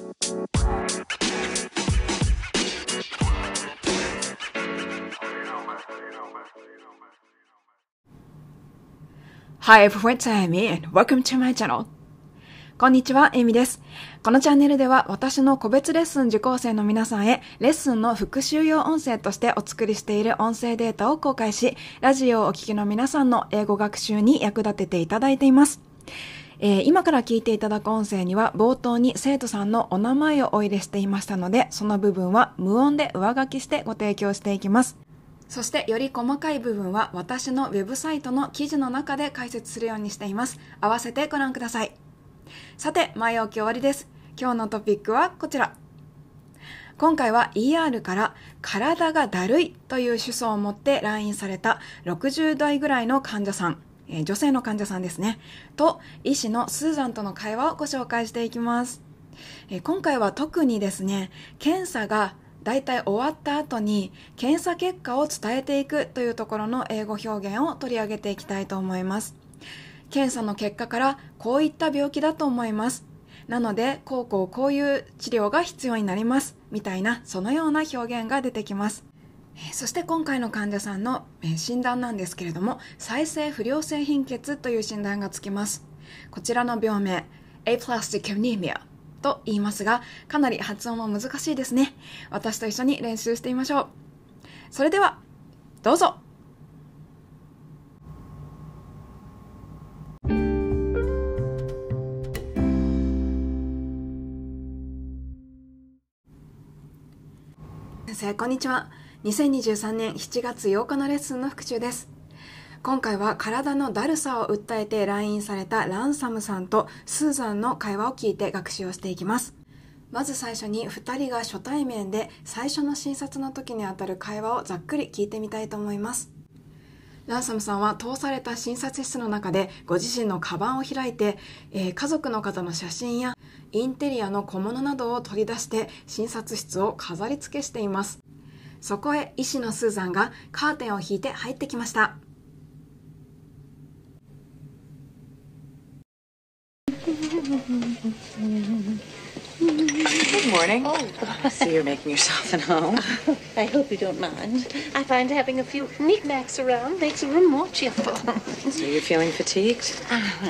Hi everyone, it's Amy and welcome to my channel. こんにちは、エミです。このチャンネルでは私の個別レッスン受講生の皆さんへレッスンの復習用音声としてお作りしている音声データを公開し、ラジオをお聞きの皆さんの英語学習に役立てていただいています。今から聞いていただく音声には冒頭に生徒さんのお名前をお入れしていましたので、その部分は無音で上書きしてご提供していきます。そしてより細かい部分は私のウェブサイトの記事の中で解説するようにしています。合わせてご覧ください。さて、前置き終わりです。今日のトピックはこちら。今回は ER から体がだるいという主訴を持って来院された60代ぐらいの患者さん、女性の患者さんですね、と医師のスーザンとの会話をご紹介していきます。今回は特にですね、検査がだいたい終わった後に検査結果を伝えていくというところの英語表現を取り上げていきたいと思います。検査の結果からこういった病気だと思います。なのでこういう治療が必要になりますみたいな、そのような表現が出てきます。そして今回の患者さんの診断なんですけれども、再生不良性貧血という診断がつきます。こちらの病名 Aplastic Anemiaと言いますが、かなり発音も難しいですね。私と一緒に練習してみましょう。それではどうぞ。先生、こんにちは。2023年7月8日のレッスンの復習です。今回は体のだるさを訴えて来院されたランサムさんとスーザンの会話を聞いて学習をしていきます。まず最初に2人が初対面で最初の診察の時にあたる会話をざっくり聞いてみたいと思います。ランサムさんは通された診察室の中でご自身のカバンを開いて、家族の方の写真やインテリアの小物などを取り出して診察室を飾り付けしています。そこへ医師のスーザンがカーテンを引いて入ってきました。 Good morning. Oh, I see you're making yourself at home. I hope you don't mind. I find having a few knickknacks around makes the room more cheerful. So you're feeling fatigued?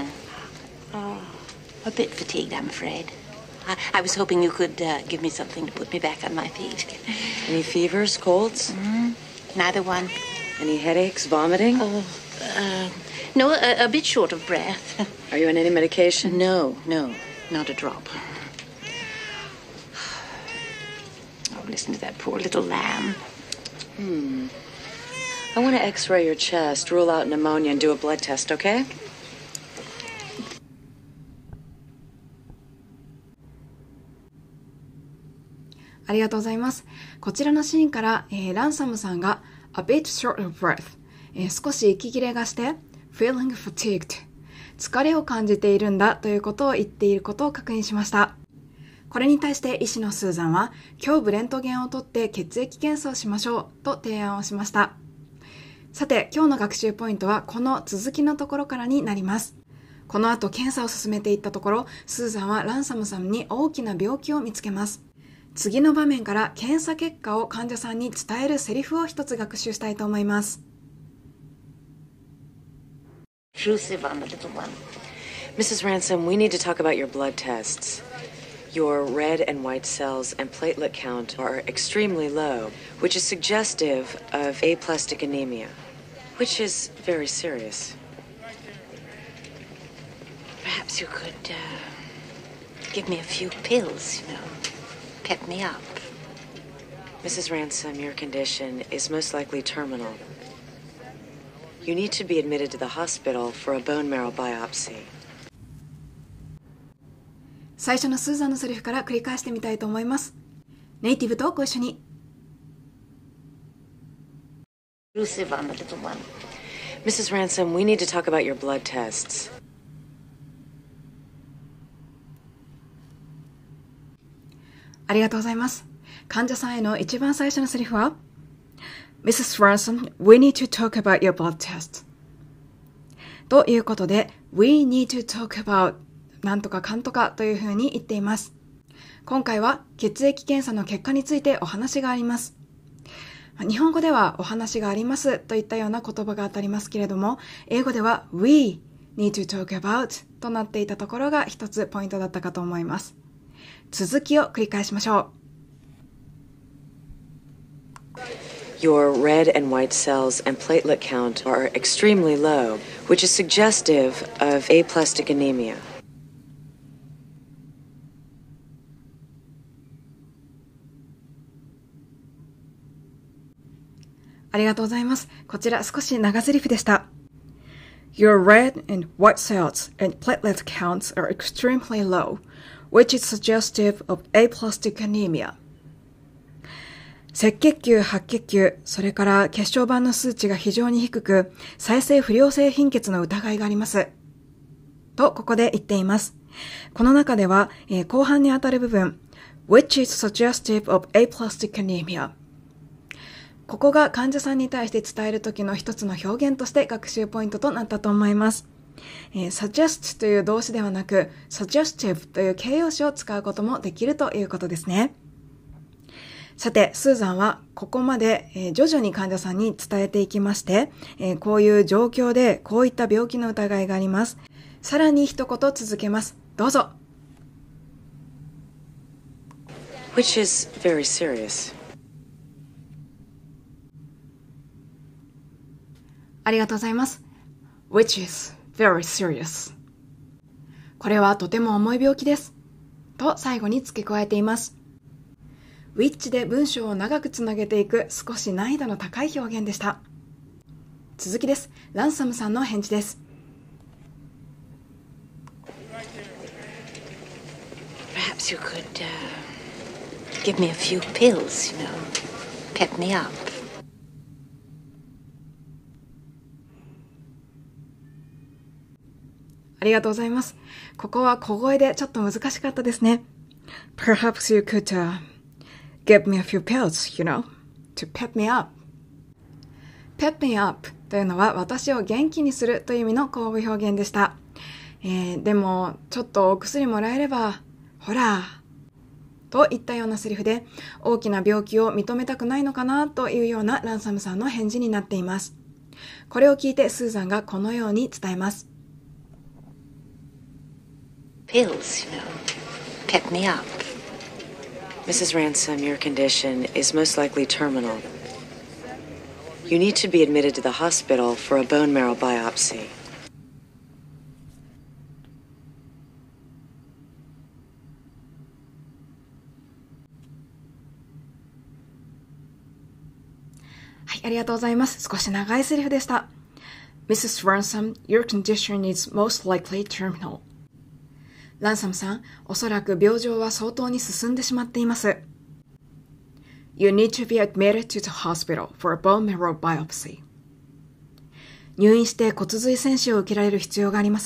A bit fatigued, I'm afraid. I was hoping you could give me something to put me back on my feet. Any fevers, colds? Neither one. Any headaches, vomiting? No, a bit short of breath. Are you on any medication? No, not a drop. Oh, listen to that poor little lamb. I want to x-ray your chest, rule out pneumonia, and do a blood test, okay? ありがとうございます。こちらのシーンから、ランサムさんが a bit short of breath、少し息切れがして feeling fatigued、 疲れを感じているんだということを言っていることを確認しました。これに対して医師のスーザンは、胸部レントゲンを取って血液検査をしましょうと提案をしました。さて、今日の学習ポイントはこの続きのところからになります。この後検査を進めていったところ、スーザンはランサムさんに大きな病気を見つけます。次の場面から検査結果を患者さんに伝えるセリフを一つ学習したいと思います。 Intrusive on the little one. Mrs. Ransom, we need to talk about your blood tests. Your red and white cells and platelet count are extremely low, which is suggestive of aplastic anemia, which is very serious. Perhaps you could give me a few pills, pep me up. Mrs. Ransom, your condition is most likely terminal. You need to be admitted to the hospital for a bone marrow biopsy. 最初のスーザンのセリフから繰り返してみたいと思います。ネイティブとご一緒に。 Intrusive on the little one. Mrs. Ransom, we need to talk about your blood tests. ありがとうございます。患者さんへの一番最初のセリフは Mrs. Ransom, we need to talk about your blood test. ということで We need to talk about なんとかかんとかというふうに言っています。 今回は血液検査の結果についてお話があります。日本語ではお話がありますといったような言葉が当たりますけれども、英語では We need to talk about となっていたところが一つポイントだったかと思います。続きを繰り返しましょう。 Your red and white cells and platelet count are extremely low, which is suggestive of aplastic anemia. ありがとうございます。こちら少し長台詞でした。Your red and white cells and platelet counts are extremely low, which is suggestive of aplastic anemia. 赤血球、白血球、それから血小板の数値が非常に低く、再生不良性貧血の疑いがあります。と、ここで言っています。この中では、後半にあたる部分、which is suggestive of aplastic anemia。ここが患者さんに対して伝えるときの一つの表現として学習ポイントとなったと思います。suggest という動詞ではなく、suggestive という形容詞を使うこともできるということですね。さて、スーザンはここまで、徐々に患者さんに伝えていきまして、こういう状況でこういった病気の疑いがあります。さらに一言続けます。どうぞ。 Which is very serious. ありがとうございます。Which is very serious. これはとても重い病気です。と最後に付け加えています。which で文章を長くつなげていく少し難易度の高い表現でした。続きです。ランサムさんの返事です。 Perhaps you could give me a few pills, you know, pep me up. ありがとうございます。ここは小声でちょっと難しかったですね。Perhaps you could give me a few pills, you know, to pep me up. pep me up というのは私を元気にするという意味の口語表現でした。でも、ちょっとお薬もらえれば、ほら、といったようなセリフで、大きな病気を認めたくないのかなというようなランサムさんの返事になっています。これを聞いてスーザンがこのように伝えます。 Pills, you know, pep me up. Mrs. Ransom, your condition is most likely terminal. You need to be admitted to the hospital for a bone marrow biopsy. はい、ありがとうございます。少し長いセリフでした。Mrs. Ransom, your condition is most likely terminal. ランサムさん、おそらく病状は相当に進んでしまっています。You need to be admitted to the hospital for a bone marrow biopsy. 入院して骨髄剪腫を受けられる必要があります。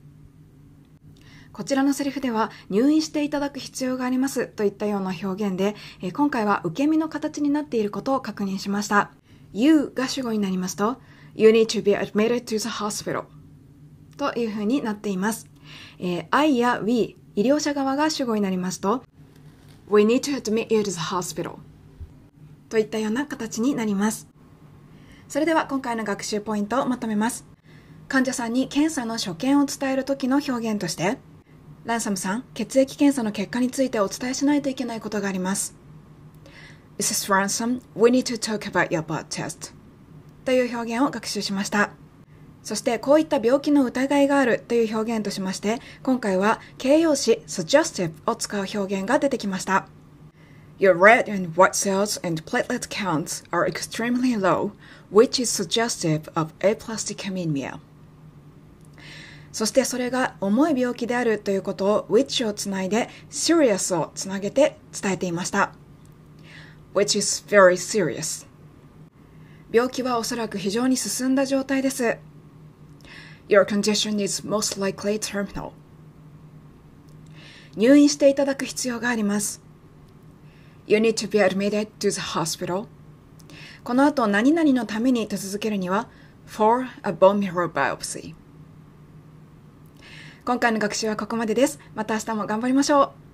こちらのセリフでは入院していただく必要がありますといったような表現で、今回は受け身の形になっていることを確認しました。You が主語になりますと、You need to be admitted to the hospital というふうになっています。I や We 医療者側が主語になりますと We need to admit you to the hospital といったような形になります。それでは今回の学習ポイントをまとめます。患者さんに検査の所見を伝える時の表現として、ランサムさん、血液検査の結果についてお伝えしないといけないことがあります。Mrs. Ransom, we need to talk about your blood test という表現を学習しました。そしてこういった病気の疑いがあるという表現としまして、今回は形容詞 suggestive を使う表現が出てきました。Your red and white cells and platelet counts are extremely low, which is suggestive of aplastic anemia. そしてそれが重い病気であるということを which をつないで serious をつなげて伝えていました。Which is very serious. 病気はおそらく非常に進んだ状態です。Your condition is most likely terminal. 入院していただく必要があります。You need to be admitted to the hospital. この後何々のためにと続けるには for a bone marrow biopsy. 今回の学習はここまでです。また明日も頑張りましょう。